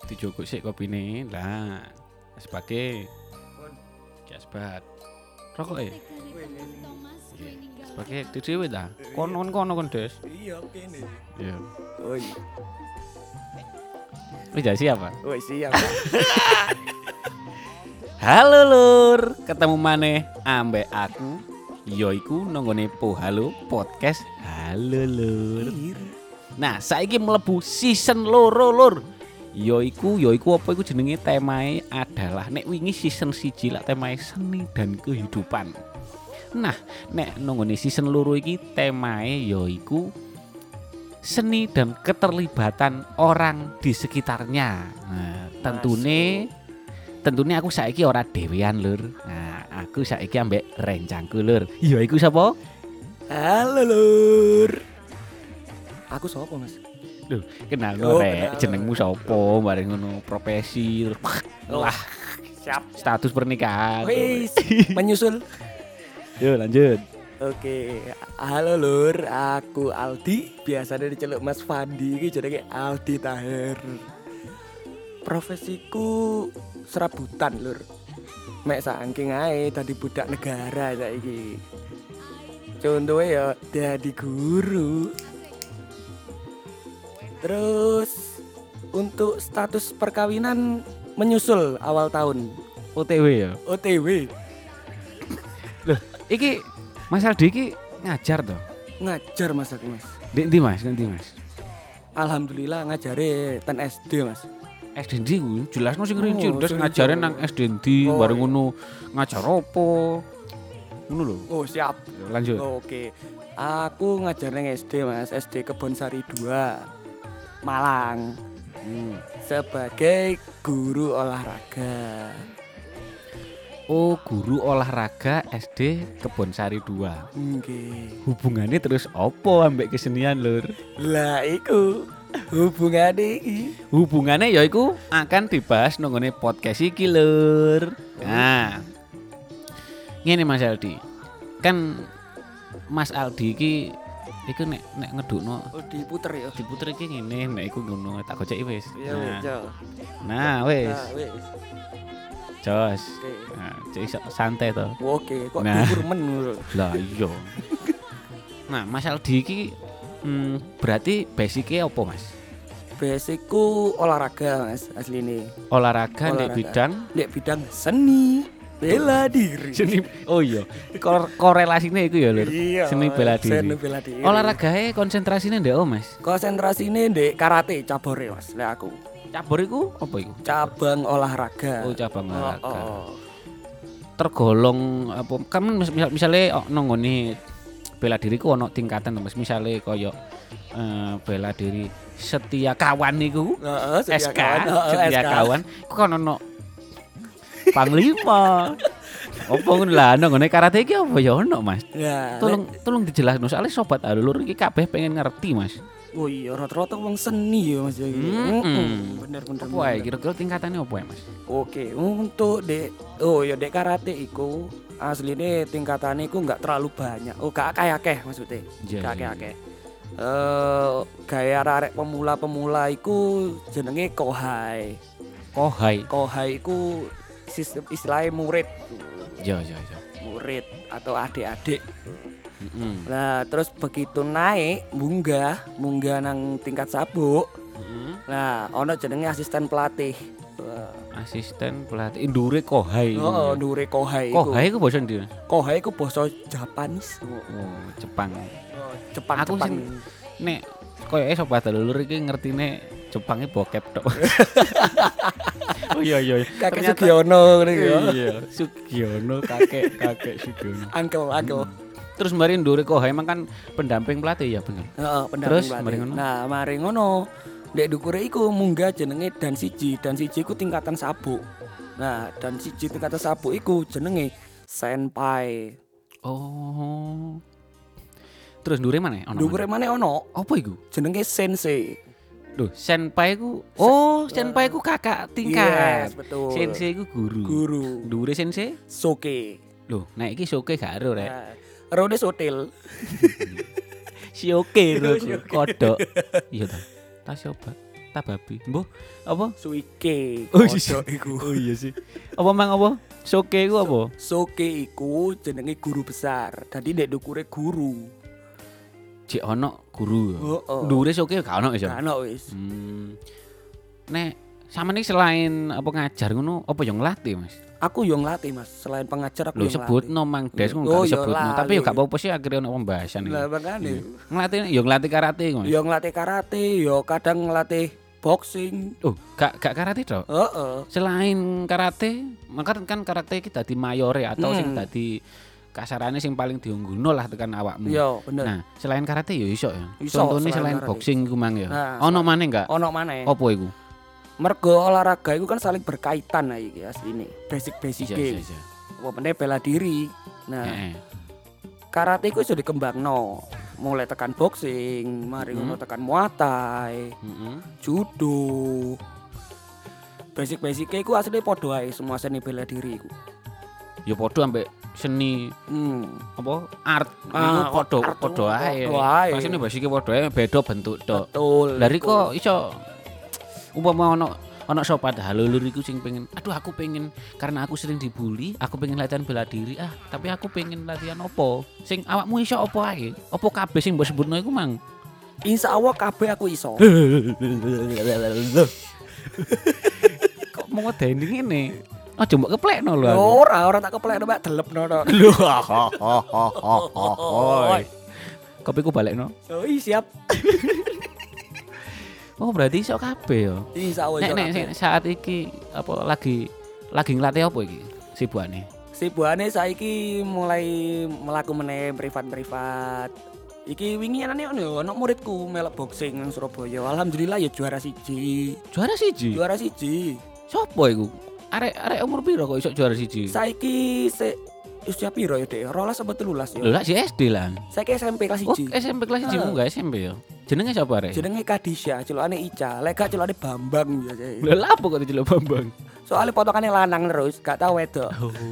dijogok sik kopine. Lah, sebagai Jasbat. Rokok e. Sebagai dhewe ta. Kono kon Des. Iya, kene. Iya. Oi. Udah siapa? Oi, siap. Halo lur, ketemu maneh ambek aku yoiku nonggone Halo Podcast. Halo lur. Nah, saiki mlebu season loro lur. Yoiku apa iku jenenge temae adalah nek wingi season 1 lak temae seni dan kehidupan. Nah, nek nonggone season loro iki temae yoiku seni dan keterlibatan orang di sekitarnya. Nah, tentunya aku saiki ora dhewean lur. Nah, aku saiki ambek rencangku lur. Ya iku sapa? Halo lur. Aku sapa, Mas? Lho, kenal Oh, rek, kenal. jenengmu sapa? Bareng ngono profesi. Wah, Siap. status pernikahan. Wis, menyusul. Yo lanjut. Oke, halo lur, aku Aldi, biasanya diceluk Mas Fandi, iki jenenge Aldi Tahir. Profesiku serabutan lur. Mek saking ae dadi budak negara saiki. Contohnya ya dadi guru. Terus untuk status perkawinan menyusul awal tahun. OTW ya. OTW Iki Mas Aldi iki ngajar toh. ngajar Mas aku Mas. Ndi Mas, ngendi Mas? Alhamdulillah ngajare ten SD Mas. SD ndi ku jelasno sing rinci, Oh, terus sing ngajare rinci. nang SD ndi, Oh, bareng iya. ngono ngajar opo. Ngono lho. Oh siap. Lanjut. Oke. Aku ngajar nang SD Mas, SD Kebonsari 2 Malang sebagai guru olahraga. Oh, guru olahraga SD Kebonsari 2. Nggih. Hubungannya terus opo ambek kesenian lur? Lah iku hubungane iki. Hubungannya yaiku akan dibahas nonggone podcast iki lur. Nah, ngene Mas Aldi. Kan Mas Aldi iki iku nek ngedukno Oh diputer ya. diputer iki ngene, nek iku ngono tak goceki wis. Iya wis, Jo. Nah, wis. Nah, wis. Jos. Oke. Nah, cek iso santai to. Oke, kok Nah. dukur men lho. Lah iya. Nah, Mas Aldi iki berarti basicnya apa Mas? Basicku olahraga Mas asline. Olahraga ndek Olahraga. bidang Nek bidang seni bela diri. seni. Oh iya, korelasinya itu ya lur. Iya, Seni bela diri. seni bela diri. Olahraganya konsentrasinya ndek Mas. Konsentrasine ndek karate cabore Mas, lek aku. Cabur iku apa iku? Cabang olahraga. Oh, cabang olahraga. Oh. Tergolong apa? Kan misalnya nonggone bela diri ku ono tingkatan Mas. Misalnya koyo bela diri setia kawan niku. Heeh, SK, setia kawan. Ku kan ono panglima. Apa ngono lah nonggone karate iki apa ya ono Mas? Ya, Tolong dijelasno soalnya sobat alur iki kabeh pengen ngerti Mas. oh iya rata-rata wong seni ya Mas ya. Bener. Apa wae kira-kira tingkatannya apa ya Mas? Oke, untuk dek dek karate iku asline tingkatane iku enggak terlalu banyak. Oh, gak akeh maksudnya. Iya, Gak iya, akeh. Gaya arek pemula-pemula iku jenenge kohai. Kohai. Kohai iku sistem istilahnya murid. Ya. Murid atau adik-adik. Heeh. Nah, terus begitu naik munggah nang tingkat sabuk. Nah, ono jenenge asisten pelatih. Asisten pelatih ndure kohai. Oh, ndure kohai iku. Kohai ku basa ndi? Kohai iku basa Japanese. Oh, Jepang. Jepang. Aku sing nek koyoke sobat alur iki ngertine Jepangnya bokep tok. Oh iya. Kakek Ternyata- Sugiono ngene iki ya. Iya, Sugiono kakek Sugiono. Uncle. Terus mari ndure kohai emang kan pendamping pelatih ya bener. Heeh, Terus, pendamping mari pelatih. ngono? Nah, mari ngono. Ndek dukure iku munggah jenenge dan siji iku tingkatan sabuk. Nah, dan siji tingkatan sabuk iku jenenge senpai. Oh. Terus ndure mana? Ono. Dukure maneh ono Apa iku? jenenge sensei. Loh, senpai ku. Oh, senpai ku kakak tingkat. Yes, betul. Sensei ku guru. Guru. Ndure sensei? Soke. Loh, nek iki soke gak ero rek. Nah, Rode sotil. Sioke lho kodok. Iya ta. Tas mata babi. Mbah, apa? Suike. Oh, Kodok iku. Oh iya sih. Apa mang apa? Soke iku apa? Soke iku jenenge guru besar. Dadi nek dukure guru. Cek ono guru. Heeh. Ndure soke gak ono iso. Kan wis. Nek sampeyan iki selain apa ngajar ngono, apa yo nglatih, Mas? Aku yo nglatih Mas, selain pengajar aku Lho yo nglatih. sebutno Mang Des ngono Oh, gak iya, disebutno, tapi yo lali. gak apa-apa sih akhirnya ono pembahasan iki. Lah makane. Nglatih yo nglatih karate Mas. Yo nglatih karate, yo kadang nglatih boxing. Oh, gak karate tok. Heeh. Selain karate, maka kan karate iki dadi mayore atau sing Hmm. dadi kasarane sing paling diunggulno lah tekan awakmu. Yo bener. Nah, selain karate yo iso ya. Iso, Contohnya selain selain karate. boxing iku mang ya. Nah, Ono maneh enggak? Ono maneh. Apa iku? Mergo olahraga itu kan saling berkaitan lah iki asline. Basic-basic Iya. apa meneh bela diri. Nah, Heeh. karate iku iso dikembangno. Mulai tekan boxing, mari ngono tekan muay thai, Heeh. judo. Basic-basic iku asline padha ae semua seni bela diri iku. Ya padha ambek seni apa art Ah, iku art padha ae. padha ae. Pasine basike padha ae beda bentuk tok. Betul. Dari kok iso umpama ono sobat halulur iku sing pengen aduh aku pengen karena aku sering dibully aku pengen latihan bela diri tapi aku pengen latihan opo sing awakmu iso opo ae opo kabeh sing mbok sebutno iku mang Insyaallah kabeh aku iso. kok mau ngedeni ngene aja mbok keplekno lho aku Ora tak keplekno mek delepno tok. lho kopiku balekno Oh, siap. oh berarti iso kabeh ya Insyaallah iso. nek kabeh. saat iki apa lagi nglatih apa iki sibukane Sibukane saiki mulai melaku meneh privat-privat. Iki wingi anane ono muridku melok boxing nang Surabaya. Alhamdulillah ya juara siji. juara siji Juara siji. sopo iku arek umur piro kok iso juara siji Saiki usia piro ya, Dek? 12 apa 13 ya? lho lah si SD lah Saiki SMP kelas oh 1. SMP kelas 1 enggak SMP ya jenenge sapa arek Jenenge Kadisha, celokane Ica. Lek gak celokane Bambang biasa. lho lah apa kok diceluk Bambang Soale potongane lanang terus, gak tau wedok.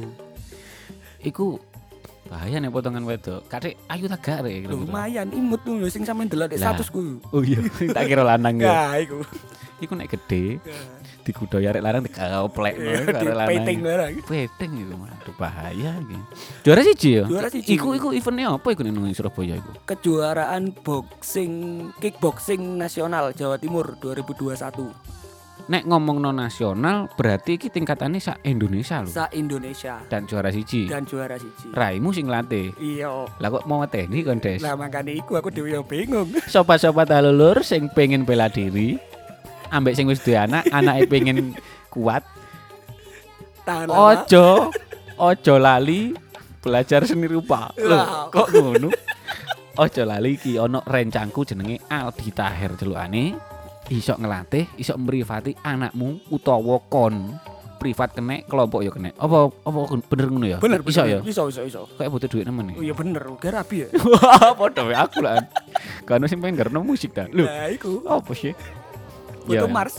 iku bahaya nih potongan wedok kadek ayu tak gak rek Lumayan imut tuh lho sing sampean delok di Lah. statusku. oh iya tak kira lanang ya Nah, iku. iku nek gede dikudoy arek larang dikaoplek Di karo lanang peting barang. Peting itu aduh bahaya iki. Juara siji ya? Juara siji. Iku eventnya apa iku ning Surabaya iku? Kejuaraan boxing kickboxing nasional Jawa Timur 2021 Nek ngomongno nasional berarti iki tingkatannya sak Indonesia lho. sa Indonesia Dan juara siji. dan juara siji. Raimu sing latih. Iya. Lah kok mau ngeteni kon Des? Lah makane iku aku dhewe yo bingung. Sobat-sobat halulur sing pengen bela diri ambek sing wis duwe anake pengen kuat. Tahan lama. Ojo lali belajar seni rupa. Loh, kok ngono? Ojo lali iki ono rencangku jenenge Aldi Tahir celukane. Iso ngelatih, iso mrivati anakmu utawa kon. Privat kene, kelompok ya kene. Apa bener ngono ya? Bener Iso ya? Iso. Kayak butuh duit nemen Oh nih. iya bener, gara rapi ya. Wah, padha wae aku lah. Karena sing pengen ngerno musik ta. Lho, Nah, iku. apa sih? Butuh Mars.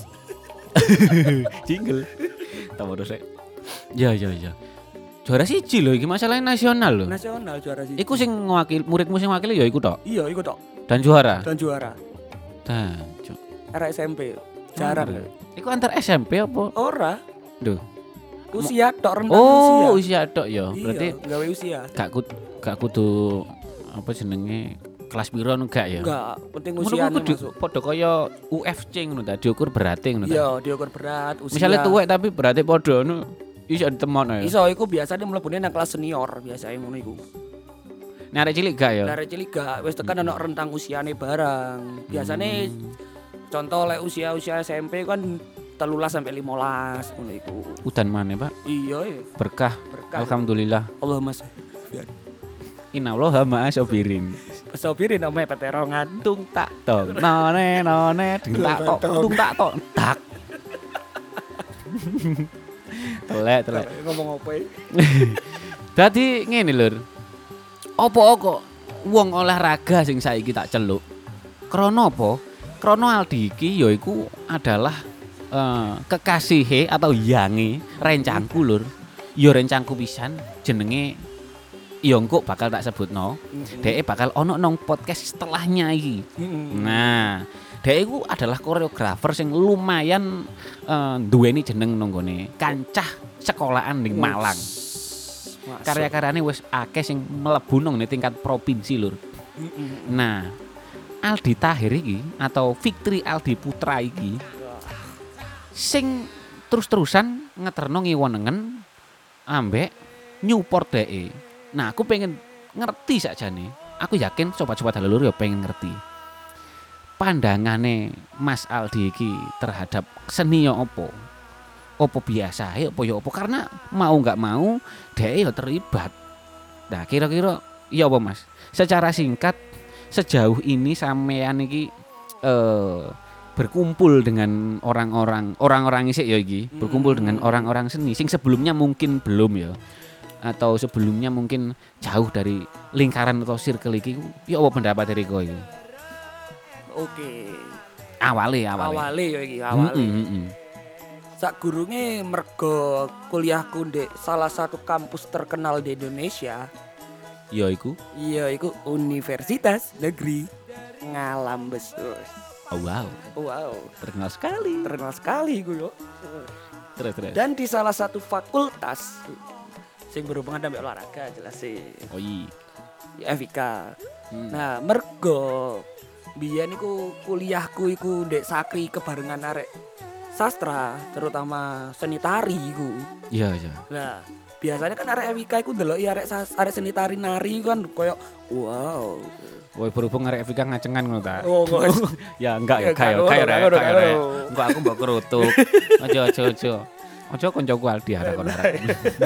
Jingle. Tahu terus rek. Ya. Juara siji lho iki masalahnya nasional lho. Nasional juara siji. Iku sing ngwakil muridmu sing ngwakili ya iku tok. Iya, iku tok. Dan juara. Dan juara. Dan cuk. Era SMP. Jarang. Iku antar SMP apa? Ora. Duh. Usia tok rentang Oh, usia. usia tok ya. Berarti Iya, gawe usia. gak kudu apa jenenge kelas piro enggak ya? Enggak, penting Ngono usiane kudu masuk. padha kaya UFC ngono ta, diukur berate ngono ta. Iya, diukur berat, usia. Misalnya tuwek tapi berarti padha ngono iso ditemokno ya. Iso iku biasanya mlebune nang kelas senior biasanya ngono iku. Nek arek cilik gak ya? Dari cilik gak wis tekan ana rentang usiane barang. Biasane contoh lek usia SMP kan 13 sampai 15 ngono iku. Udan maneh, Pak. Iya ya, Berkah. berkah. Alhamdulillah. Allahumma Innallaha ma'a sabirin. sobirin ame peterongan. Tung tak tong. None ding tak tok. Tung tak tok. Tak. Telek. Ngomong apa ya? Dadi ngene lur. Apa kok wong olahraga sing saiki tak celuk? Krana apa? Krana Aldi iki yaiku adalah kekasihe atau yange rencangku lur. Ya rencangku pisan jenenge ya engko bakal tak sebutno. Dhek bakal ono nang podcast setelahnya iki. Nah, Dhek iku adalah koreografer sing lumayan duweni jeneng nanggone kancah sekolahan ning Malang. Karya-karyane wis akeh sing mlebu nang tingkat provinsi lur. Nah, Aldi Tahir iki atau Fikri Aldi Putra iki sing terus-terusan ngeterno ngiwonengen ambek Newport dhek. Nah, aku pengen ngerti sakjane. Aku yakin sobat-sobat Halulur ya pengen ngerti. Pandangane Mas Aldi iki terhadap seni yo opo? Opo biasa ya opo karena mau nggak mau dhek yo terlibat. Nah, kira-kira iya apa Mas? Secara singkat sejauh ini sampean iki berkumpul dengan orang-orang isik ya iki, berkumpul dengan orang-orang seni sing sebelumnya mungkin belum ya. Atau sebelumnya mungkin jauh dari lingkaran atau circle iki ya apa pendapat dari kowe iki? Oke. Awale. Awale ya iki, awale. Sakgurunge mergo kuliahku ndek salah satu kampus terkenal di Indonesia. Ya iku. Iya, iku Universitas Negeri Ngalambes. Oh, wow. Wow, Terkenal sekali. terkenal sekali iku yo. Terus. Dan di salah satu fakultas sing berhubungan dengan olahraga jelas sih. Oh iya. Ya, FIK. Nah, mergo biyen iku kuliahku iku ndek Sakri kebarengan arek sastra, terutama seni tari iku. Iya. Nah, biasanya kan arek FIK iku ndeloki arek seni tari nari kan koyo wow. Woi berhubung arek Evika ngacengan ngono ta. Oh, Ya enggak ya kayak Enggak aku mbok kerutuk. Aja. Aja koncoku Aldi arek kono arek.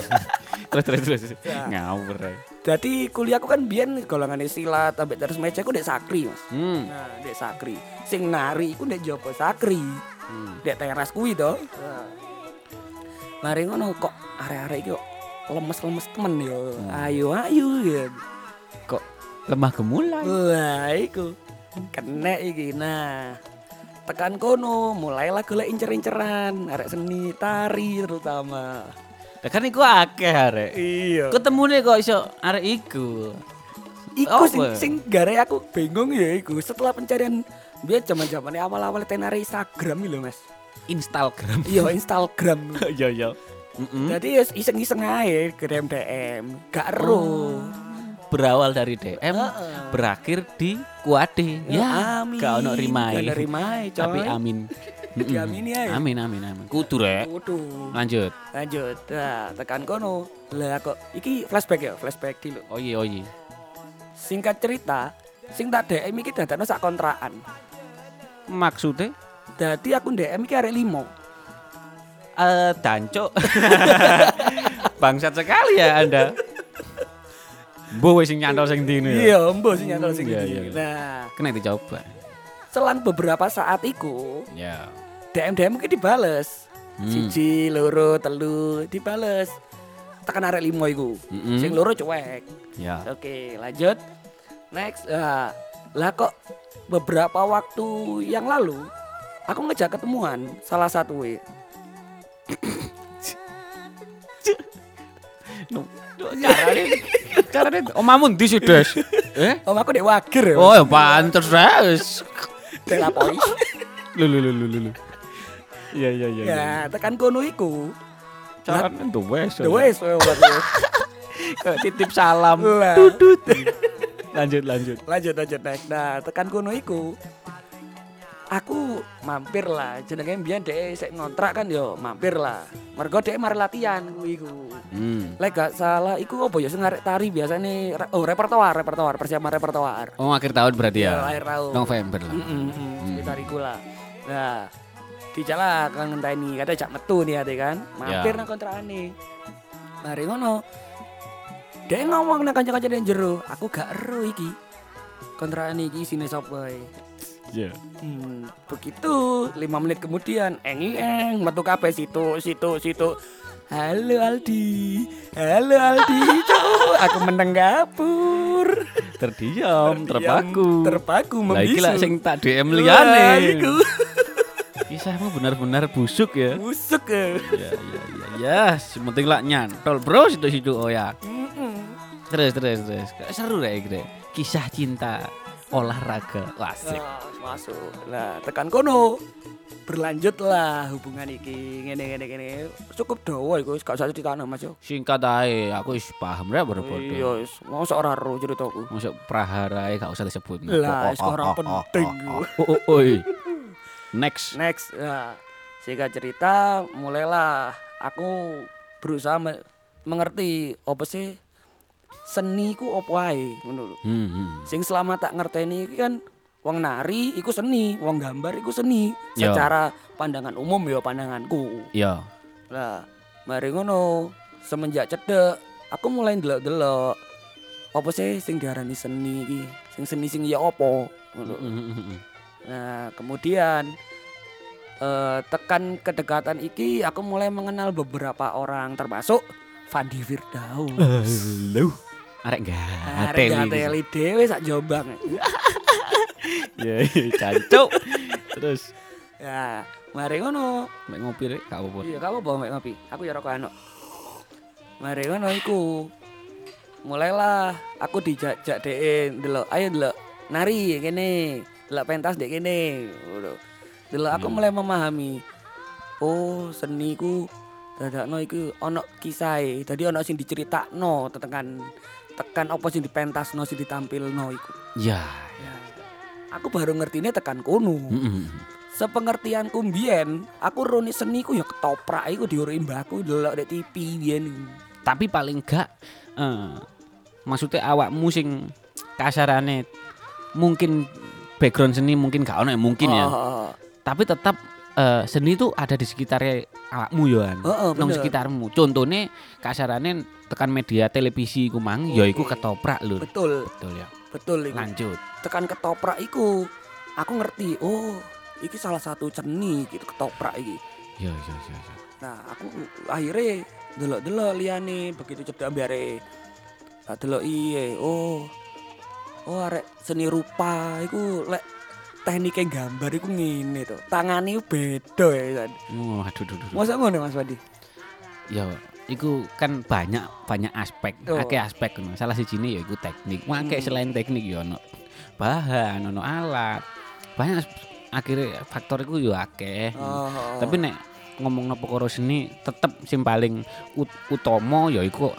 Terus. Ngawur ae. Jadi kuliahku kan biyen golongane silat ambek terus meja ku ndek Sakri, Mas. Nah, ndek Sakri. Sing nari iku ndek Joko Sakri. Ndek teras kuwi to. Nah. Mari ngono kok arek-arek iki kok lemes-lemes temen yo. Ayo ya. Kok lemah gemulai. Wah, iku kena iki. Nah, tekan kono mulailah golek incer-inceran arek seni tari terutama. Lah kan iku akeh arek. Iya. Ketemune kok iso arek iku. Iku Apa? sing gare aku bingung ya iku setelah pencarian biar zaman-zamane awal-awal tenar Instagram iki lho, Mas. Instagram. Iya, Instagram. Iya. Jadi ya iseng-iseng ae DM. Gak ero. Berawal dari DM, berakhir di kuade. Ya, amin. gak ono rimae. Gak ono rimae, coy. Tapi amin. Diamini ae. Amin. Kudu rek. Kudu. Lanjut. Nah, tekan kono. Lah kok iki flashback dulu. Oh iya. Singkat cerita, sing tak DM iki dadakno sak kontrakan. Maksudnya Dadi aku DM iki arek 5. dancuk. Bangsat sekali ya Anda. Mbok wis sing nyantol sing ndi ya. Iya, mbok sing nyantol sing Iya, ndi. iya. Nah, Kena dicoba. selang beberapa saat iku, Ya. DM iki dibales. 1, 2, 3 dibales. Tekan arek 5 iku. Sing loro cuek. Ya. Oke, lanjut. Next. Lah kok beberapa waktu yang lalu aku ngejak ketemuan salah satu Carane omamu ndi sih, Des? Om aku dek Wager ya. Oh, ya pantes wis. Telapoi. Lu. Iya. Ya, tekan kono iku. Carane wes. Wes Titip salam. Lah. Tutut. Lanjut. Lanjut next. Nah, tekan kono iku. Aku mampir lah, jenenge mbiyen dhek sik ngontrak kan yo, mampir lah. Mergo dhek mari latihan kuwi iku. Lek gak salah iku apa ya sing arek tari biasane repertoar, persiapan repertoar. Oh, akhir tahun berarti ya. Akhir tahun. November lah. Sekitar iku lah. Nah, dijala kan ngenteni kate jak metu nih ate kan. Mampir nang kontrakane. Mari ngono. Dhek ngomong nang kanca-kanca nang jero, aku gak ero iki. Kontrakane iki isine sapa Iya. Begitu 5 menit kemudian metu kabeh situ. Halo Aldi, cuk. Aku meneng gapur. Terdiam, terpaku. Membisu. Lah iki lak sing tak DM liyane. Wah, iku. Kisahmu benar-benar busuk ya. Busuk ya. Ya, sementing lak nyantol, Bro, situ-situ oh ya. Terus. Seru rek iki. Kisah cinta olahraga. Asik. Masuk. Lah tekan kono berlanjutlah hubungan iki ngene. Cukup dawa iku wis gak usah ditanam Mas yo. Singkat ae, aku wis paham rek berpodo. Iya wis mosok ora ro ceritaku. Masuk prahara ae gak usah disebut. Lah wis ora penting. Oi. Next. Nah, singkat cerita mulailah aku berusaha mengerti apa sih seni ku opo ae ngono lho. Sing selama tak ngerteni iki kan wong nari iku seni, wong gambar iku seni. Yo. Secara pandangan umum ya pandanganku. Iya. Lah, mari ngono semenjak cedek aku mulai ndelok-ndelok apa sih sing diarani seni iki? Sing ya opo ngono. Nah, kemudian tekan kedekatan iki aku mulai mengenal beberapa orang termasuk Fandi Firdaus. Halo. Arek Gateli dhewe sak Jombang. Ya, cancuk. Terus Ya, mari ngono. mek ngopi rek gak apa-apa. Iya, kamu bawa mek ngopi. Aku ya rokok anok. Mari ngono iku. Mulailah aku dijak-jak dhek ndelok, ayo ndelok nari kene, ndelok pentas dek kene. Ngono. Ndelok aku mulai memahami. Oh, seni ku dadakno iku ana kisahe. Dadi ana sing diceritakno tekan apa sing dipentasno sing ditampilno iku. Ya. Aku baru ngertine tekan kono. Sepengertianku mbiyen, aku roni seni ku ya ketoprak iku diurui mbahku ndelok di TV biyen. Tapi paling gak maksudnya awakmu sing kasarane mungkin background seni mungkin gak ono ya mungkin ya. Tapi tetap seni itu ada di sekitarnya awakmu ya. Nang sekitarmu. Contohnya kasarane tekan media televisi ku mang ya iku ketoprak lho. Betul ya. Betul iku. Lanjut. Tekan ketoprak iku aku ngerti. Oh, iki salah satu seni gitu ketoprak iki. Ya. Nah, aku akhirnya delok-delok liyane begitu cedhak ambare. Tak delok iye. Oh, arek seni rupa iku lek teknike gambar iku ngene to. Tangane beda ya. Oh, aduh. Masa ngono Mas Wadi? Ya, iku kan banyak aspek, akeh aspek ngono. Salah sijine ya iku teknik. Akeh selain teknik ya ono bahan, ono alat. Banyak akhirnya faktor iku ya akeh. Tapi nek ngomongno perkara seni tetep sing paling utama ya iku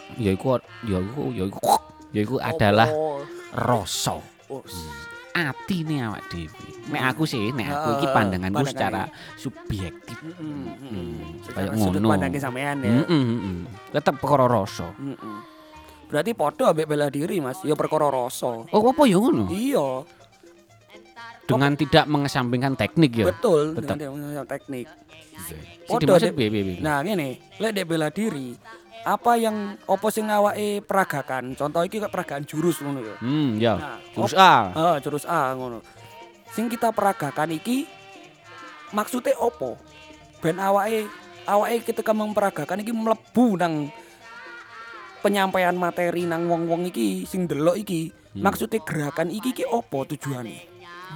adalah rasa. Atine awak dhewe. Nek aku iki pandanganku secara subjektif. Kayak ngono. Pandangke sampean ya. Tetep perkara rasa. Berarti padha ambek bela diri Mas, ya perkara rasa. Oh, apa ya ngono? Iya. Dengan tidak mengesampingkan teknik ya. Betul, tetap dengan teknik. Podo piye. Nah, ngene, lek dek bela diri, apa sing awake peragakan? Contoh iki kok peragaan jurus ngono ya. Ya. Nah, Jurus A. Jurus A ngono. Sing kita peragakan iki maksudnya opo? Ben awake ketika memperagakan iki mlebu nang penyampaian materi nang wong-wong iki sing delok iki. Maksudnya gerakan iki opo tujuane?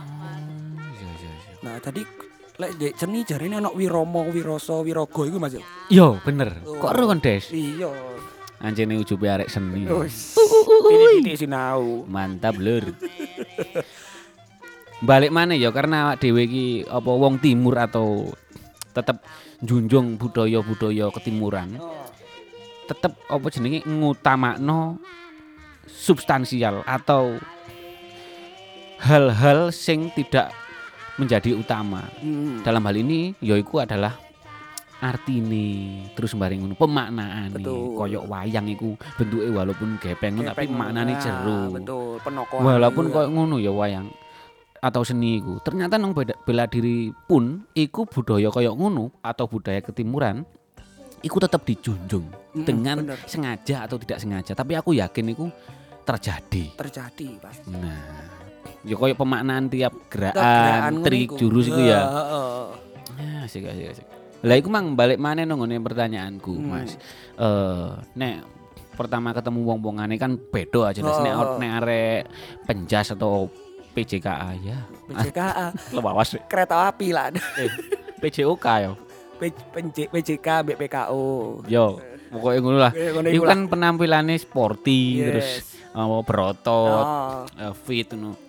Nah, tadi lek dek seni jarine ana wirama, wirasa, wiraga iku Mas. Yo, bener. Kok ero kon, Des? Iya. Anjene ujube arek seni. Titik sinau. Mantap, Lur. Balik mana ya karena awak dhewe iki apa wong timur atau tetep njunjung budaya-budaya ketimuran. Tetep apa jenenge ngutamakno substansial atau hal-hal sing tidak menjadi utama. Dalam hal ini yaiku adalah artine terus bareng ngono pemaknaane. Koyok wayang iku bentuke walaupun gepeng tapi maknane jero. Betul, penokohan. Walaupun koyo ngono ya wayang atau seni iku. Ternyata nang bela diri pun iku budaya koyok ngono atau budaya ketimuran iku tetap dijunjung dengan sengaja atau tidak sengaja. Tapi aku yakin iku terjadi pasti. Nah, ya koyo pemaknaan tiap gerakan trik jurus iku ya. Asik. Lah iku mang balik maneh nang ngene pertanyaanku, Mas. Nek pertama ketemu wong-wongane kan beda jelas nek arek penjas atau PJKA ya. PJKA. Lewawas Kereta api lah. PJOK ya. PJK BPKO. Yo, pokoknya ngono lah. Iku kan penampilannya sporty terus berotot, fit ngono.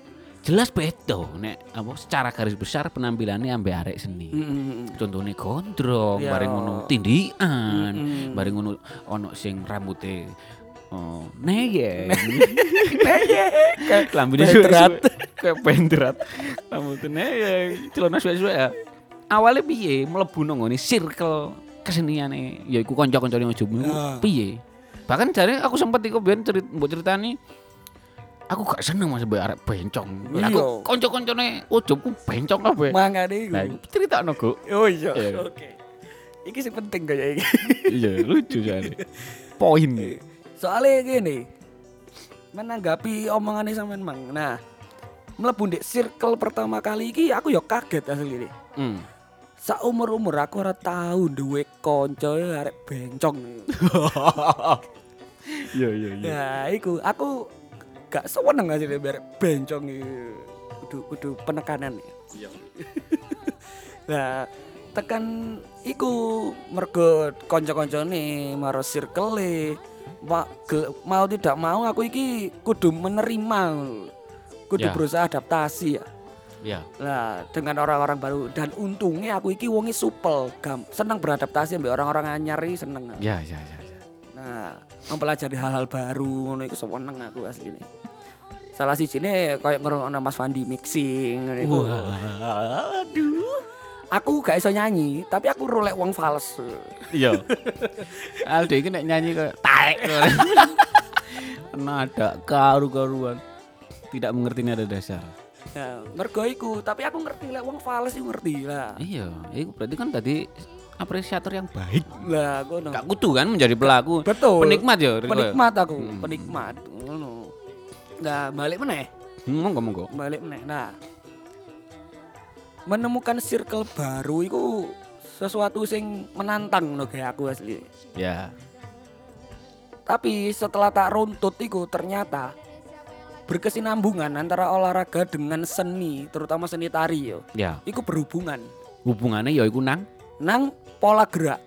jelas beda nek apa secara garis besar penampilannya ambek arek seni. Contohnya gondrong, Iya. bareng ngono tindikan, bareng ngono ono sing rambute neyeng. Neyeng. Lambene Bendrat. kayak bendrat. Rambutnya neyeng, celana suwe-suwe ya. Awalnya piye mlebu nang ngene circle keseniane yaiku kanca-kancane ojomu piye? Bahkan jare aku sempet iku biyen mbok critani aku gak seneng Mas mbek arek bencong. Iya. Aku kanca-kancane ojobku bencong kabeh. Mangane iku. Lah critakno, Go. Oh iya. Iya. Oke. Iki sing penting kaya iki. Iya, lucu jare. Poin. Soalnya gini, menanggapi omongannya sampean Mang. Nah, mlebu ndek circle pertama kali iki aku ya kaget asli ini. Saumur-umur aku ora tau duwe kanca arek bencong. Iya. Nah, iku aku gak seneng asli arek bencong iki. Kudu penekanan. Iya. Nah, tekan iku mergo kanca-kancane maro circle-e mau tidak mau aku iki kudu menerima, kudu Ya. berusaha adaptasi ya. Iya. Nah, dengan orang-orang baru dan untungnya aku iki wonge supel, seneng beradaptasi ambek orang-orang anyar iki seneng. Ya. Nah, mempelajari hal-hal baru ngono iku seneng aku asline. Salah sijine koyo ngrungokno Mas Fandi mixing ngono iku. Aduh. Aku gak iso nyanyi, tapi aku rolek wong fals. Iya. Aldo iki nek nyanyi kayak taek. Nada karu-karuan. Tidak mengerti nada dasar. Ya, mergo iku, tapi aku ngerti lek wong fals iku ngerti lah. Iya, itu berarti kan tadi apresiator yang baik. Lah, ngono. Gak kudu kan menjadi pelaku. Betul. Penikmat ya. Riko. Penikmat aku, penikmat. Ngono. Nah, balik meneh. Monggo. Balik meneh. Nah, menemukan circle baru itu sesuatu sing menantang no kayak aku asli. Ya. Tapi setelah tak runtut itu ternyata berkesinambungan antara olahraga dengan seni, terutama seni tari yo. Ya. Iku berhubungan Hubungannya ya iku nang. pola gerak,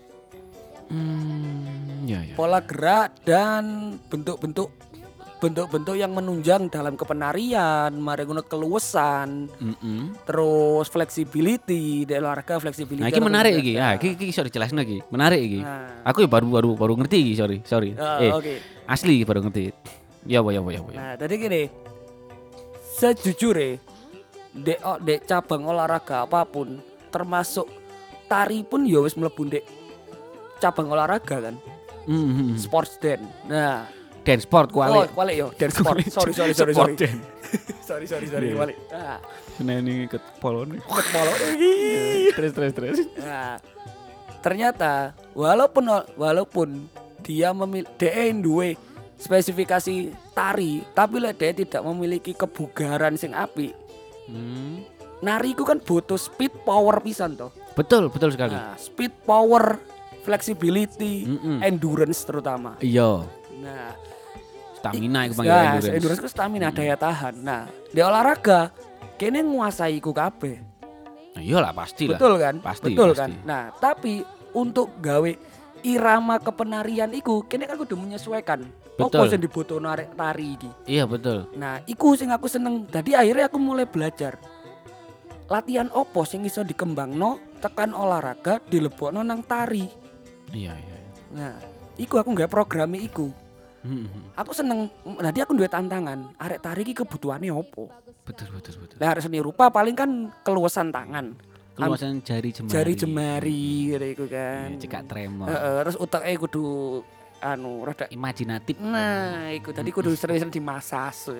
Ya. pola gerak dan bentuk-bentuk yang menunjang dalam kepenarian, mari ngono keluasan, terus flexibility, di olahraga flexibility. Nah, iki menarik iki. Ya, iki iso dijelasno iki. Menarik iki. Nah. Aku ya baru ngerti iki, sorry. Oke. Asli baru ngerti. Ya. Nah, tadi gini. Sejujurnya dek cabang olahraga apapun, termasuk tari pun ya wis mlebu dek cabang olahraga kan. Sports dance. Nah, dance sport kuali. kuali yo, dance sport. Sorry. Sport dance. sorry, kuali. Nah, Seneni ket polone. ket polo. Terus. Nah, ternyata walaupun dia duwe spesifikasi tari, tapi lek dia tidak memiliki kebugaran sing apik. Nari ku kan butuh speed power pisan toh. Betul sekali. Nah, speed power, flexibility, endurance terutama. Iya. Nah, Stamina iku panggil endurance. Ku stamina daya tahan. Nah, di olahraga kene nguasai iku kabeh. Nah, iyalah pasti lah. Betul kan? Pasti. Kan? Nah, tapi untuk gawe irama kepenarian iku kene kan kudu menyesuaikan. Betul. Apa sing dibutuhno arek tari iki. Iya betul. Nah, iku sing aku seneng. Dadi akhirnya aku mulai belajar. Latihan opo sing iso dikembangno tekan olahraga dilebokno nang tari. Iya. Nah, iku aku nggak programe iku. Aku seneng. Dadi aku duwe tantangan. Arek tari iki kebutuhane opo? Betul. Lah arek seni rupa paling kan keluasan tangan. Keluasan jari jemari. Jari jemari iku kan. Cekak tremor. Terus uteke kudu rada Imajinatif. nah, iku tadi kudu sering-sering dimasas.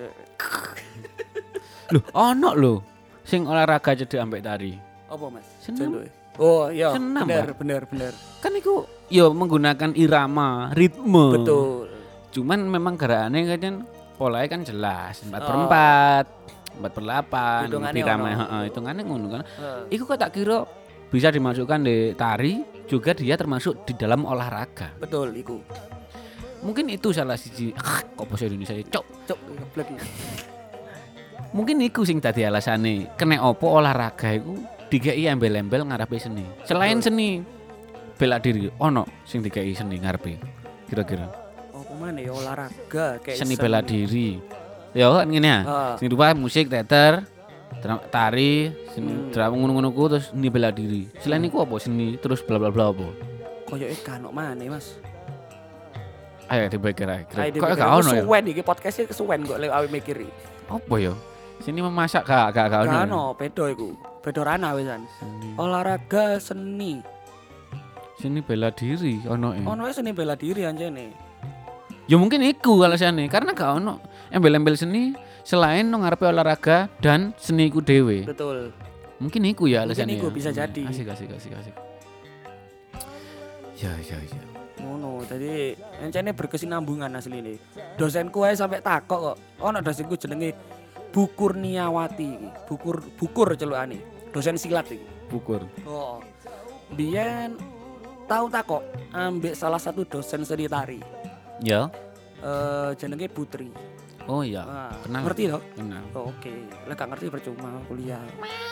Loh, ono lho sing olahraga cedek ambek tari. Apa Mas? Seneng. Contohnya? Oh iya, Seneng, bener. Kan iku ya menggunakan irama, ritme. Betul. Cuman memang gerakannya kan polanya kan jelas 4/4, 4/8, Hitungannya irama, ono. hitungannya ngono kan. Iku kok tak kira bisa dimasukkan di tari, juga dia termasuk di dalam olahraga. Betul iku. Mungkin itu salah siji kok bahasa Indonesia cok. Geblek iki. Mungkin iku sing dadi alasane kena opo olahraga iku dikei embel-embel ngarepe seni. Selain seni bela diri, ono sing dikei seni ngarepe. Kira-kira. Apa maneh ya olahraga kayak Seni bela diri. Ya kan ngene ya. Heeh. Seni rupa musik, teater, tari, seni drama ngono-ngono ku terus seni bela diri. Selain iku apa seni terus bla bla bla apa? Koyoke kan maneh, Mas. Ayo dipikir ae. Ayo Kok dipikir, gak ono ya? kesuwen iki podcast-e kesuwen kok lek awe mikiri. Apa ya? Seni memasak gak ono. Gak ya? ono, beda iku. Beda ranah wisan. Olahraga seni. Seni bela diri ono e. Ono seni bela diri anjene. Ya mungkin iku alasannya karena gak ono embel-embel seni selain nang ngarepe olahraga dan seni iku dhewe. Betul. Mungkin iku ya alasannya. Mungkin iku ya. bisa jadi. Asik. Ya. Ngono, tadi encene berkesinambungan asline. Dosenku ae sampai takok kok. Ono dosenku jenenge Bukurniawati iki. Bukur celukane. Dosen silat iki. Bukur. Oh. Biyen tau takok ambek salah satu dosen seni tari. Ya. Jenenge Putri. Oh iya. Nah, Kenal. ngerti toh? Kenal. Oh, oke. Lek gak ngerti percuma kuliah.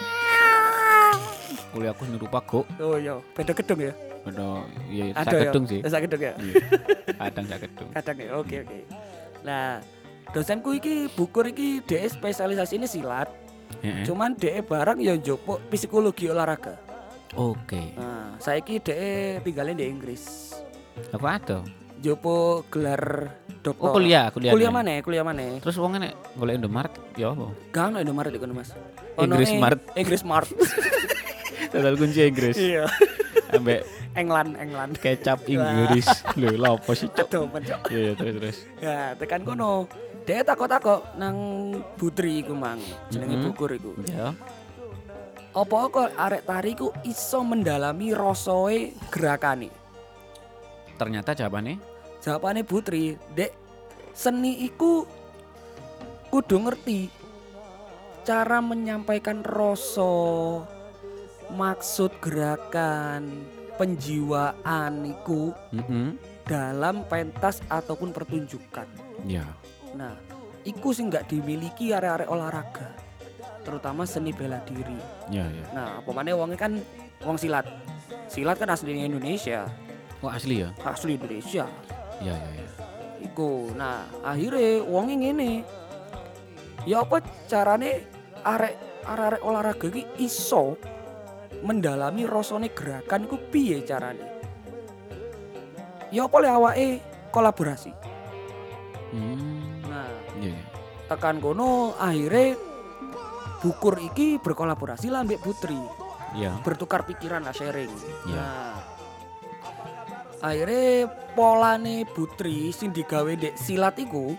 Kuliahku seni rupa kok. Oh iya, beda gedung ya. Ada ya Ada sak ya? gedung sih. Sak gedung ya. Iya. Kadang sak gedung. Kadang ya. Oke. Nah, dosenku iki Bukur iki dhek spesialisasi ini silat. Heeh. Cuman dhek barang ya njupuk psikologi olahraga. Oke. Nah, saiki dhek tinggalin di Inggris. Aku ada. Njupuk gelar doktor. Oh kuliah. Kuliah mana? Terus wong nek golek Indomaret ya apa? Gak ono Indomaret iku Mas. Inggris Mart. Inggris Mart. Total kunci Inggris. Iya. Ambek England. kecap Inggris. Lho, lha apa sih, Cok? Aduh, Cok. Iya, terus. Ya, tekan kono. Dhek takok-takok nang Putri iku mang. Jenenge Bukur iku. Ya. Apa kok arek tari ku iso mendalami rasoe gerakane? Ternyata jawabannya Jawabane Putri, Dek, seni iku kudu ngerti cara menyampaikan rasa, maksud gerakan, penjiwaan iku dalam pentas ataupun pertunjukan. Ya. Nah, iku sih nggak dimiliki arek-arek olahraga, terutama seni bela diri. Ya. Nah, apa maneh wongnya kan wong silat. Silat kan aslinya Indonesia, Oh, asli ya? asli Indonesia. Ya. Iku. Nah, akhirnya wonge ngene. Ya apa carane arek olahraga iki iso mendalami rasane gerakan iku piye carane? Ya apa le awake kolaborasi. Nah, Ya. tekan kono akhirnya Bukur iki berkolaborasi lah ambek Putri. Ya. Bertukar pikiran lah, sharing. Ya. Nah, akhirnya polane Putri sing digawe ndek silat iku,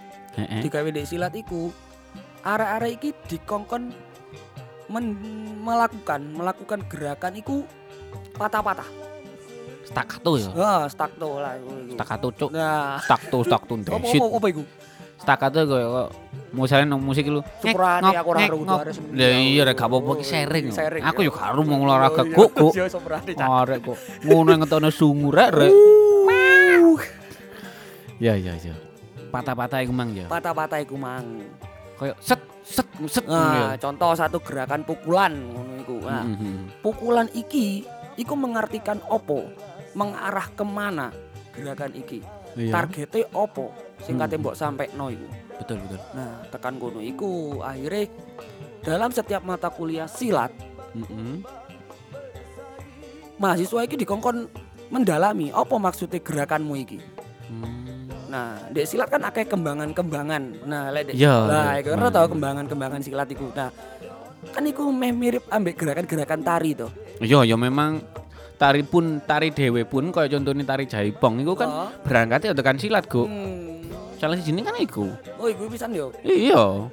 arek-arek iki dikongkon melakukan gerakan iku patah-patah. Staccato ya. Staccato lah iku. Staccato, Cuk. Nah, Staccato shit. apa iku? Staccato kok misalnya nang musik lu. Suprane aku ora ero kudu harus. Lah iya rek gak apa-apa ki sharing. Aku yo gak ero mau olahraga Iya, kok. iya, soprane, Cak. Arek kok ngono ngetokno sungur rek. Ya. Patah-patah iku mang ya. Patah-patah iku mang. Kayak set. Nah, contoh satu gerakan pukulan ngono iku. Nah, pukulan iki iku mengartikan opo? Mengarah kemana gerakan iki? Iya. Targetnya opo? Sing kate mbok sampekno iku. Betul. Nah, tekan kono iku akhirnya dalam setiap mata kuliah silat, mahasiswa iki dikongkon mendalami apa maksudnya gerakanmu iki. Nah, dek silat kan akeh kembangan-kembangan. Nah, lek dek. Lah, iku ora tau kembangan-kembangan silat iku. Nah, kan iku meh mirip ambek gerakan-gerakan tari to. Iya, ya memang tari dhewe pun kaya contohnya tari jaipong iku kan berangkatnya tekan silat, Go. Salah sijine kan iku. Oh, iku pisan yo. Iya.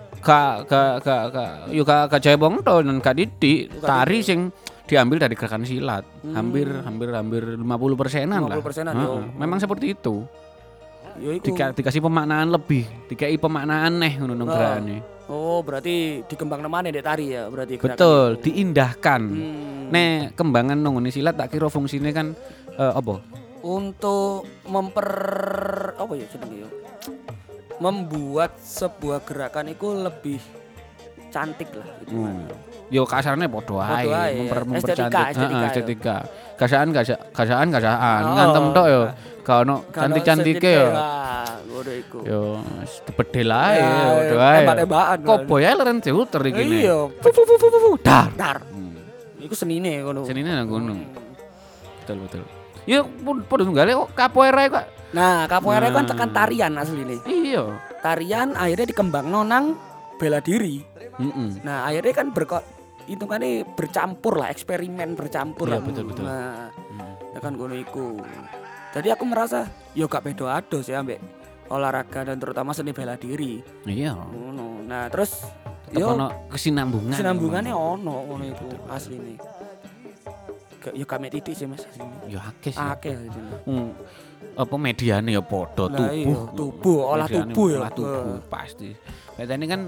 Gak jaipong to dan gak didik tari sing diambil dari gerakan silat. Hampir 50%-an lah. 50%-an yo. Memang seperti itu. Yo iku. Dikasih pemaknaan lebih, dikai pemaknaan ngono nang gerane. Oh, berarti dikembangkan mana dek tari ya? Berarti gerakan Betul, itu. diindahkan. Nek kembangan nang ngene silat tak kira fungsine kan apa? Untuk apa ya jenenge ya? Membuat sebuah gerakan itu lebih cantik lah gitu. Yo kasarane padha ae, mempercantik estetika. Gasaan, ngantem tok yo. Gak ono cantik-cantike yo. ngono iku. Yo bedel ae Nah, padha ae. tembak-tembakan. Kopo ya leren diuter iki. Iya, Dar. dar. Iku senine ngono. Senine nang ngono. Betul. Ya padha tunggale kok capoeira kok. Nah, capoeira kan Nah. tekan tarian asline. Iya. Tarian akhirnya dikembangno nang bela diri. Heeh. Nah, akhirnya kan hitungannya bercampur lah, eksperimen bercampur Iya, lah. betul. Nah, tekan ngono iku. Jadi aku merasa yo gak beda ados ya ambek olahraga dan terutama seni bela diri. Iya. Ngono. Nah, terus Tetep ono kesinambungan. kesinambungannya ono ngono iku asline. Yo gak mek titik sih Mas asline. Ya akeh sih. Akeh asline. Apa mediane ya padha Lah iya, tubuh, olah Mediane tubuh ya. olah tubuh pasti. Katanya kan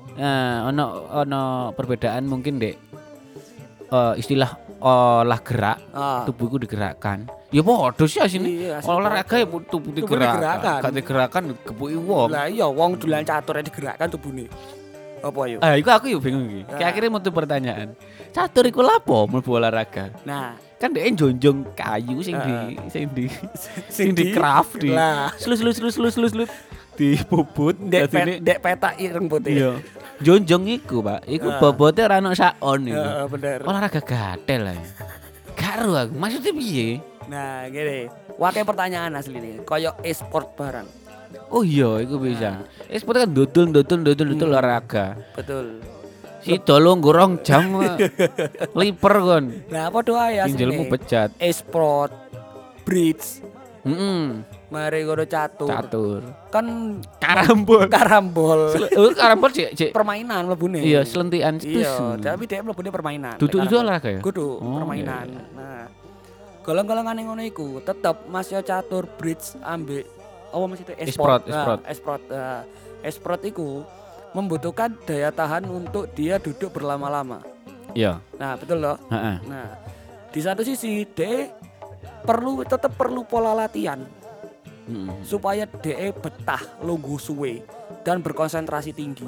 ono perbedaan mungkin Dek. Istilah olah gerak, Ah. tubuhku digerakkan. Ya padha sih asine. Iya, asine Olahraga ya tubuh Tubuh digerakkan. digerakkan. Gak digerakkan gepuki wong. Lah iya wong dolan catur digerakkan tubuhne. Apa yo? Iku aku yo bingung iki. Nah. Akhirnya mutu pertanyaan. Catur iku lapo mlebu olahraga? Nah, Kan dhek jonjong kayu sing di craft di. Lah. Slus dibubut dadine dek petak ireng putih. iya. Jonjong iku, Pak. Iku bobote ora ono sakon iku. Heeh, bener. Olahraga gatel ae. Karo aku. Maksudnya piye? Nah, gini. Wakai pertanyaan asli nih. Koyok e-sport barang. Oh iya, iku bisa. Sport kan dodol olahraga. Betul. Si tolong gorong jam liper kon. Nah, apa doa ya asli Pinjelmu nih? bejat. E-sport, bridge, Heeh. mari gono catur. Catur. Kan Karambol. karambol. Karambol cek. Permainan mlebune. Iya, selentian Iya, stus. tapi dia mlebune permainan. Duduk itu Karambol. olahraga ya? Kudu Oh, permainan. Nah, golong-golongan ngono iku tetep Mas yo catur, bridge, ambek apa Mas itu E-sport. e-sport. E-sport iku membutuhkan daya tahan untuk dia duduk berlama-lama. Iya. Nah, betul loh. Heeh. Nah, di satu sisi dia tetap perlu pola latihan Heeh. supaya dia betah lungguh suwe dan berkonsentrasi tinggi.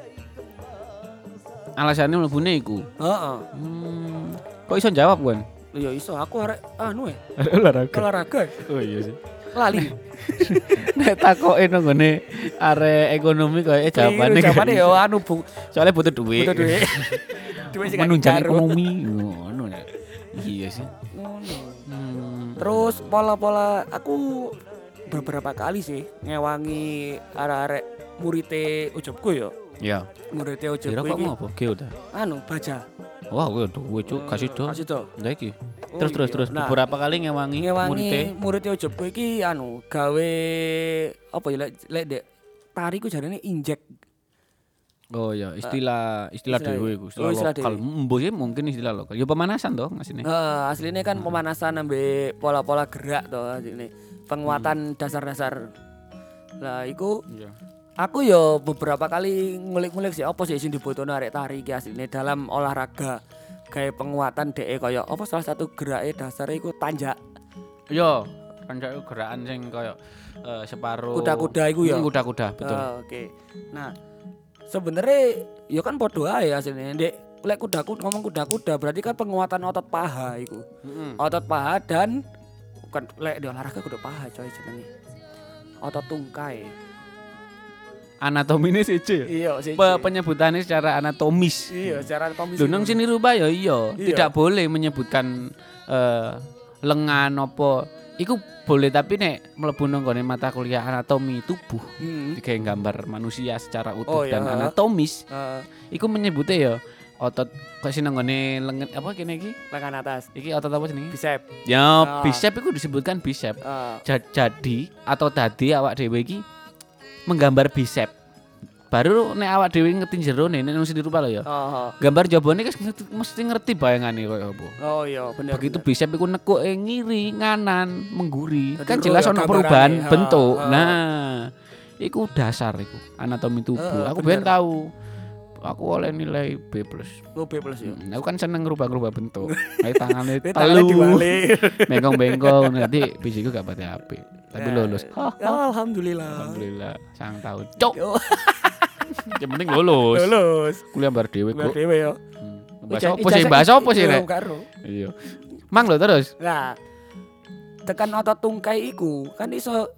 Alasannya mlebune iku. Heeh. Kok iso jawab, Wan? Ya iso aku arek Olahraga. olahraga Oh iya sih. lali. Nek takoke nang ngene arek ekonomi koyo jawabane. Jawabane yo anu Bu. Soalnya butuh duit. Butuh duit. Duit sing gak Menunjang dicari. ekonomi ngono ya. Iya sih. Ngono. Hmm. Terus pola-pola aku beberapa kali sih ngewangi arek-arek murite ujubku yo. Ya. Murite Kira ujubku kok iki mau apa? Geo ta. anu baja. Wah, kowe duwe cuk, kasih do. Kasih do. Lah iki. Oh, Terus iya. Nah, beberapa kali ngewangi murite. murid ujubku iki anu gawe apa ya lek dek tari ku jarane injek. Oh ya, istilah dhewe iku, Oh, istilah lokal. Mbok mungkin istilah lokal. Ya pemanasan toh asline. Aslinya kan pemanasan ambek pola-pola gerak toh asline. Penguatan dasar-dasar. Lah iku Iya. aku yo beberapa kali ngulik-ngulik sih apa sih sing dibutuhno arek tari iki asline dalam olahraga. Kayak penguatan DE kaya apa salah satu gerake dasare iku tanjak. Yo, kanca gerakan sing koyo separuh Kuda-kuda iku ya? Kuda-kuda, betul. Oke. Nah, sebenarnya ya kan padha ae asline. Ndek lek ngomong kuda-kuda berarti kan penguatan otot paha iku. Otot paha dan bukan lek di olahraga kudu paha coy jenenge. Otot tungkai. Anatomine siji. Iya, sih. Penyebutannya secara anatomis. Iya, secara komisi. Lho nang sini rubah ya iya, Iya. tidak boleh menyebutkan lengan apa. Iku boleh tapi nek mlebu nang gone mata kuliah anatomi tubuh, digawe gambar manusia secara utuh Oh, iya. dan anatomis. Heeh, Iku menyebutnya ya otot kok sing nang gone lengan apa kene iki? lengan atas. Iki otot apa jenenge? Bicep. Ya, bicep iku disebutkan bicep. Jadi atau tadi awak dhewe iki menggambar bicep. Baru nek awak dhewe ngerti jerone nek nang sini rupa lho ya. Gambar jabone mesti ngerti bayangane koyo apa. Oh iya, bener. Begitu bicep iku nekuk ngiri, nganan, mengguri. Jadi Kan jelas royo ono gambarane. perubahan Ha, bentuk. ha. Nah, iku dasar iku anatomi tubuh. Aku ben bener. tahu. Aku oleh nilai B+. Oh, B+ ya. Aku kan seneng rubah-rubah bentuk. Kayak tangannya Ini tangannya telu. dibalik. Bengkong-bengkong nanti bijiku gak pati apik. Tapi Nah. lulus. Alhamdulillah. Alhamdulillah, sang tahun. Cok. Oh, Yang penting lulus. lulus. Kuliah bar dhewe Biar kok. dhewe yo. Bahasa apa sih? Bahasa apa sih, Rek? Karo. Iya. Mang lho terus. Nah, tekan otot tungkai iku kan iso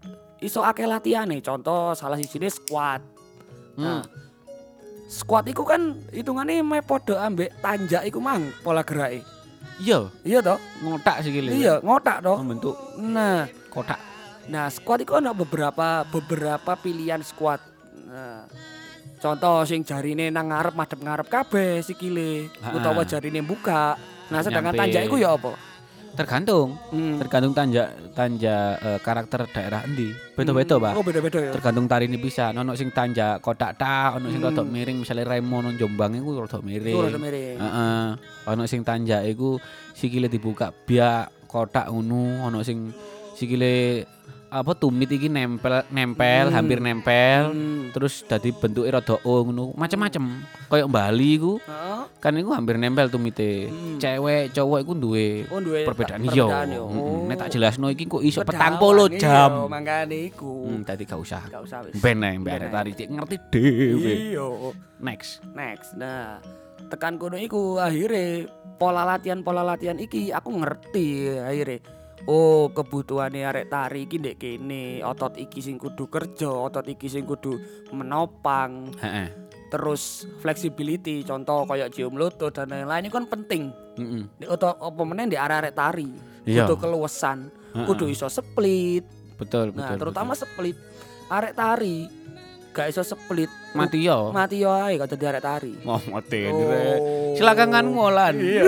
iso akeh latihane. Contoh salah sijine squat. Nah, squat iku kan hitungane meh padha ambek tanjak iku mang pola gerake. Iya, Iya toh? ngotak sikile. Iya, ngotak toh. Membentuk Nah, kotak. Nah, squat itu ada beberapa pilihan squat. Nah, contoh sing jarine nang ngarep madhep ngarep kabeh sikile utawa jarine buka. Nah, sedangkan Nyampe. tanjak iku ya apa? Tergantung tanjak karakter daerah endi. Beda-beda, Pak. Oh, beda-beda ya. Tergantung tarine bisa. Ono sing tanjak kotak tak, ono sing rodok miring, misale Remo nang Jombang iku rodok miring. Ora miring. Heeh. Ono sing tanjak iku sikile dibuka biak kotak ngono, ono sing sikile apa tumit iki nempel, hampir nempel. Terus dadi bentuke rada O ngono, macem-macem. Kayak Bali iku Heeh. kan iku hampir nempel tumite. Cewek, cowok iku duwe Oh, duwe perbedaan perbedaan iya. yo. Oh. Nek tak jelasno iki kok iso Pedawan, 40 jam. Iya, mangkane iku. Tadi gak usah. Gak usah wis. Ben ae mbak tari cek ngerti dhewe. Iya. Next. Nah, tekan kono iku akhirnya pola latihan iki aku ngerti akhirnya. Oh, kebutuhane arek tari iki ndek kene, otot iki sing kudu kerja, otot iki sing kudu menopang. Heeh. Terus flexibility, contoh kayak cium lutut dan lain-lain itu kan penting. Heeh. Di otot apa meneh di arek tari. Iya. Kudu keluasan, kudu iso split. Betul, Nah, betul. terutama split. Arek tari gak iso split. mati yo. Mati yo ae kok dadi arek tari. Mau mati Oh. silakan kan ngolan. Iya.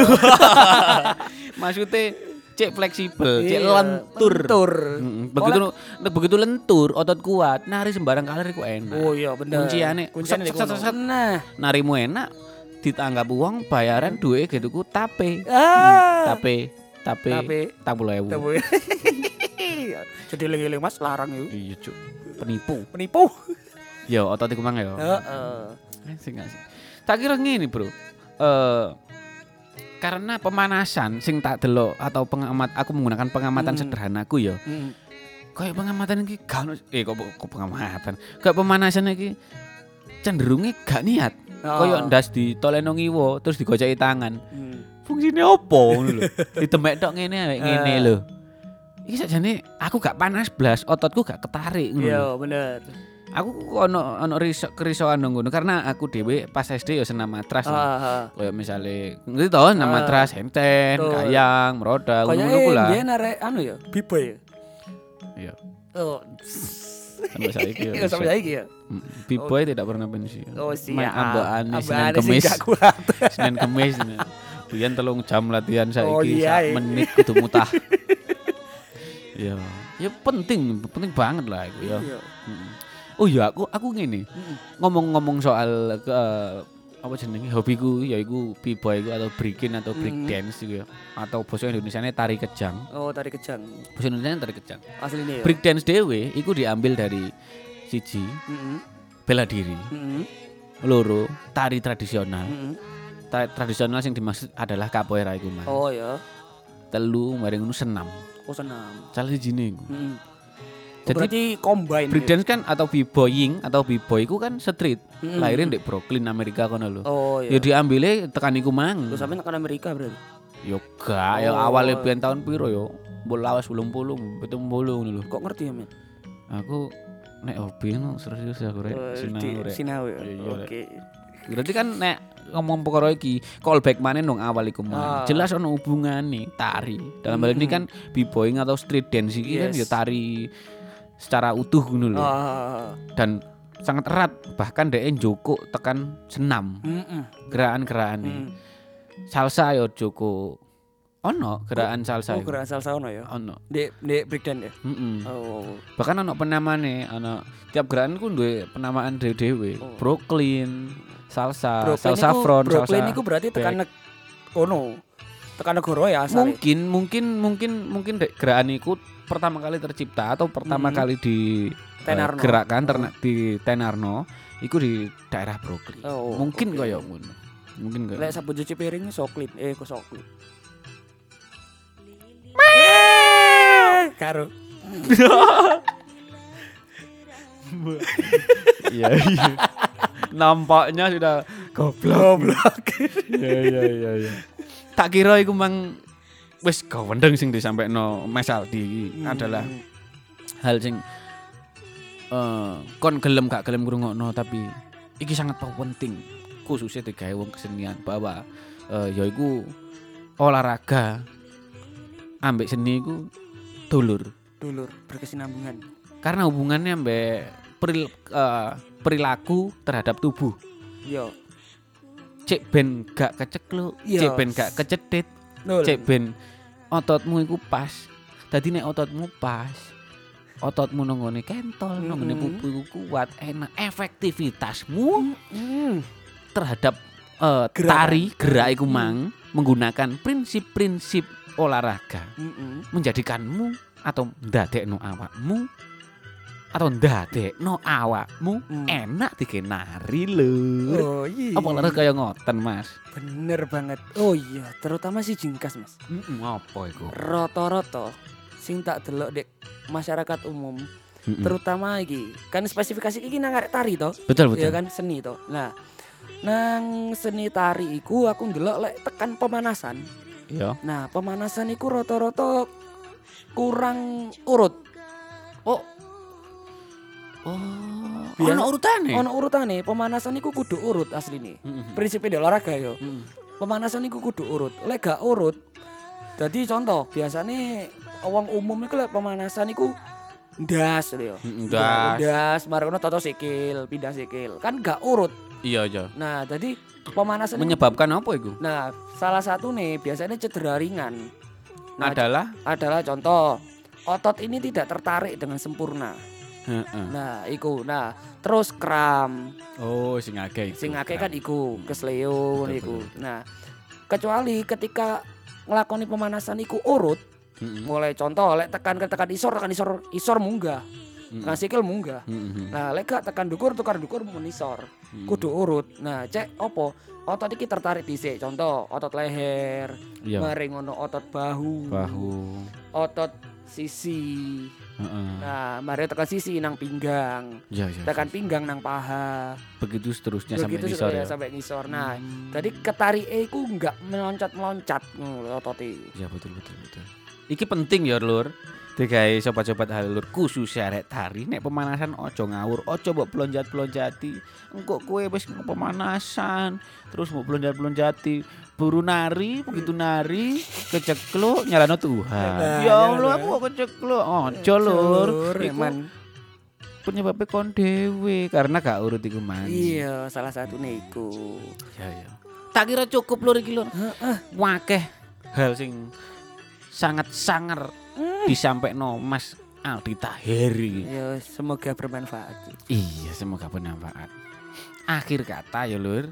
Maksudnya cek fleksibel, cek Iya, lentur. lentur. Begitu lentur, otot kuat, nari sembarang kali ku enak. Oh iya bener. Kunciane Kunciane set, set, set, set. Nah. Narimu enak, ditanggap uang bayaran duit gitu ku tape. Tape. 40.000. Tape. Jadi eling-eling Mas larang yo. Iya, Cuk. Penipu. Yo, otot iku mang yo. Heeh. Sing asik. Tak kira ngene, Bro. Karena pemanasan sing tak delok atau aku menggunakan pengamatan sederhanaku ya. Kayak pengamatan iki gak ono kok pengamatan. Kayak pemanasan iki cenderunge gak niat. Kayak ndas ditoleno ngiwo terus digoceki tangan. Fungsine opo ngono lho. Ditemek tok ngene lho. Iki sakjane aku gak panas blas, ototku gak ketarik ngono. Iya, bener. Aku ono kerisauan nang ngono karena aku dhewe pas SD ya senam matras. Kayak misale ngerti to senam matras, henten, kayang, meroda ngono ku lah. Kayak dia arek anu ya, B-boy. Iya. Oh. Sampai saiki ya. Iya, sampai saiki ya. B-boy tidak pernah pensiun. Oh, siap. Main ambaan Senin Ambaan sing Kemis. gak kuat. Senin Kemis. Biyen 3 jam latihan Oh, saiki iya, sak menit kudu mutah. Ya, ya penting banget lah iku ya. Iya. Oh iya, aku ngene. Ngomong-ngomong soal apa jenenge hobiku yaiku b-boy atau breaking atau break dance gitu ya. Atau basa Indonesiane tari kejang. Oh, tari kejang. Basa Indonesiane tari kejang. Asline ya. Break dance dhewe iku diambil dari siji bela diri. Loro tari tradisional. Tradisional yang dimaksud adalah capoeira iku mah. Oh ya. Telu mari ngono senam. Oh, senam. Salah sijine iku. Jadi berarti combine. Breakdance kan atau b-boying atau b-boy ku kan street. Lahirin di Brooklyn Amerika kono lho. Oh Ya iya. diambile tekan iku mang. Terus sampe tekan Amerika berarti. Yo gak, ya awale biyen tahun piro yo. Mbok lawas 80, 70 ngono lho. Kok ngerti ya, Men? Aku nek hobi no serius aku rek sinau rek. Sinau ya. Iya, Oke. Berarti kan nek ngomong perkara iki callback maneh nang awal iku mang. Jelas ono hubungane tari. Dalam hal ini kan b-boying atau street dance iki kan ya tari secara utuh ngono lho. Dan sangat erat bahkan dhek njoko tekan senam. Gerakan-gerakane. Salsa yo joko. Ono gerakan salsa. Oh, gerakan salsa ono ya. Ono. Dek breakdance ya. Oh. Bahkan ono penamane, ono tiap gerakan ku duwe penamaan dhewe-dhewe. Brooklyn, salsa, salsa front, salsa. Brooklyn iku berarti tekan ono. Tekan negara ya asale. Mungkin gerakan iku pertama kali tercipta atau pertama kali di gerakan di Tenarno iku di daerah Brooklyn. Mungkin kaya ngono. Mungkin kaya. Lek sabun cuci piring soklit, kok soklit. Karo. Iya. Nampaknya sudah goblok. Iya. Tak kira iku mang wis gawendeng sing disampaikno Mas Aldi adalah hal sing kon gelem gak gelem ngrungokno tapi iki sangat penting khususnya digawe wong kesenian bahwa yaiku olahraga ambek seni iku dulur berkesinambungan karena hubungannya ambek perilaku terhadap tubuh. Yo. Cek ben gak kecekluk, cek ben gak kecedhit, cek ben ototmu iku pas. Dadi nek ototmu pas, ototmu nonggone kentol, nonggone pupu iku kuat, enak, efektivitasmu terhadap tari gerak iku mang menggunakan prinsip-prinsip olahraga menjadikanmu atau ndadekno awakmu atau ndadekno awakmu enak dikenari lho. Oh iya. Apa lho kaya ngoten, Mas? Bener banget. Oh iya, terutama si jingkas, Mas. Apa iku? Rata-rata sing tak delok dek masyarakat umum, terutama iki kan spesifikasi iki nang arek tari to. Betul. Ya kan seni to. Nah, nang seni tari iku aku ndelok lek tekan pemanasan. Iya. Nah, pemanasan iku rata-rata kurang urut. Ono urutane. Pemanasan iku kudu urut asline. Prinsipnya di olahraga yo. Pemanasan iku kudu urut. Lek gak urut, jadi contoh biasane wong umum iku lek pemanasan iku ndas lho. Ndas, marono toto sikil, pindah sikil. Kan gak urut. Iya. Nah, jadi pemanasan menyebabkan apa iku? Nah, salah satu nih biasanya cedera ringan. Nah, adalah contoh otot ini tidak tertarik dengan sempurna. Nah, iku. Nah, terus kram. Oh, sing akeh kan iku, kesleo iku. Nah, kecuali ketika nglakoni pemanasan iku urut, mulai contoh lek tekan isor munggah. Tekan sikil munggah. Nah, lek gak tekan dukur menisor. Kudu urut. Nah, cek opo? Otot iki tertarik dhisik. Contoh, otot leher, mari ngono otot bahu. Otot sisi. Nah, mari tekan sisi nang pinggang. Tekan pinggang nang paha. Begitu seterusnya sampai ngisor. Nah, jadi ketarike iku enggak meloncat-meloncat ngono otote. Ya betul. Iki penting ya, Lur. Digawe sobat-sobat halur khusus arek tari nek pemanasan ojo ngawur, ojo mbok plonjat-plonjati. Engko kowe wis pemanasan, terus mbok plonjat-plonjati, buru nari, begitu nari kecekluk nyalano Tuhan. Ya Allah, aku kok kecekluk. Ojo Lur, Iman. Penyebabnya kon dhewe karena gak urut iku man. Iya, salah satu niku. Ya. Tak kira cukup Lur iki Lur. Wakeh hal sing sangat sangar disampaikan Mas Aldi Tahiri. Ya, semoga bermanfaat. Iya, semoga bermanfaat. Akhir kata ya Lur.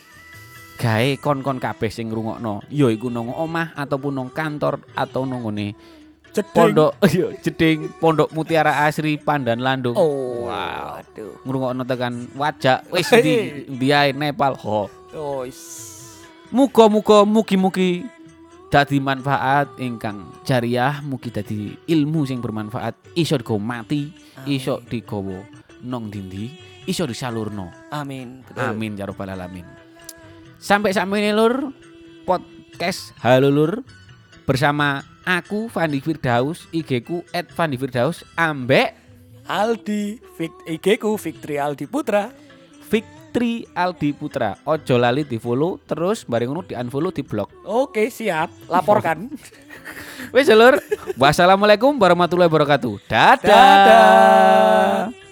Gawe kon-kon kabeh sing ngrungokno, ya iku nang omah ataupun nang kantor atau nang ngene pondok jeding Pondok Mutiara Asri Pandan Landung. Oh, wow. Aduh. Ngrungokno tekan wajak wis ndi ae Nepal ho. Oh, muga-muga mugi-mugi dadi manfaat ingkang jariah, mugi dadi ilmu sing bermanfaat, iso digo mati, iso digawa nang ndi, iso disalurno. Amin. Betul. Amin ya rabbal alamin. Sampai sakmene Lur, podcast Halo Lur bersama aku Fandi Firdaus, IG-ku @fandifirdaus ambek Aldi, IG-ku Fitri Aldi Putra. Fitri Aldi Putra. Ojo lali di-follow terus bareng ngono di-unfollow di blog. Oke, siap. Laporkan. Wes Lur. Wassalamualaikum warahmatullahi wabarakatuh. Dadah.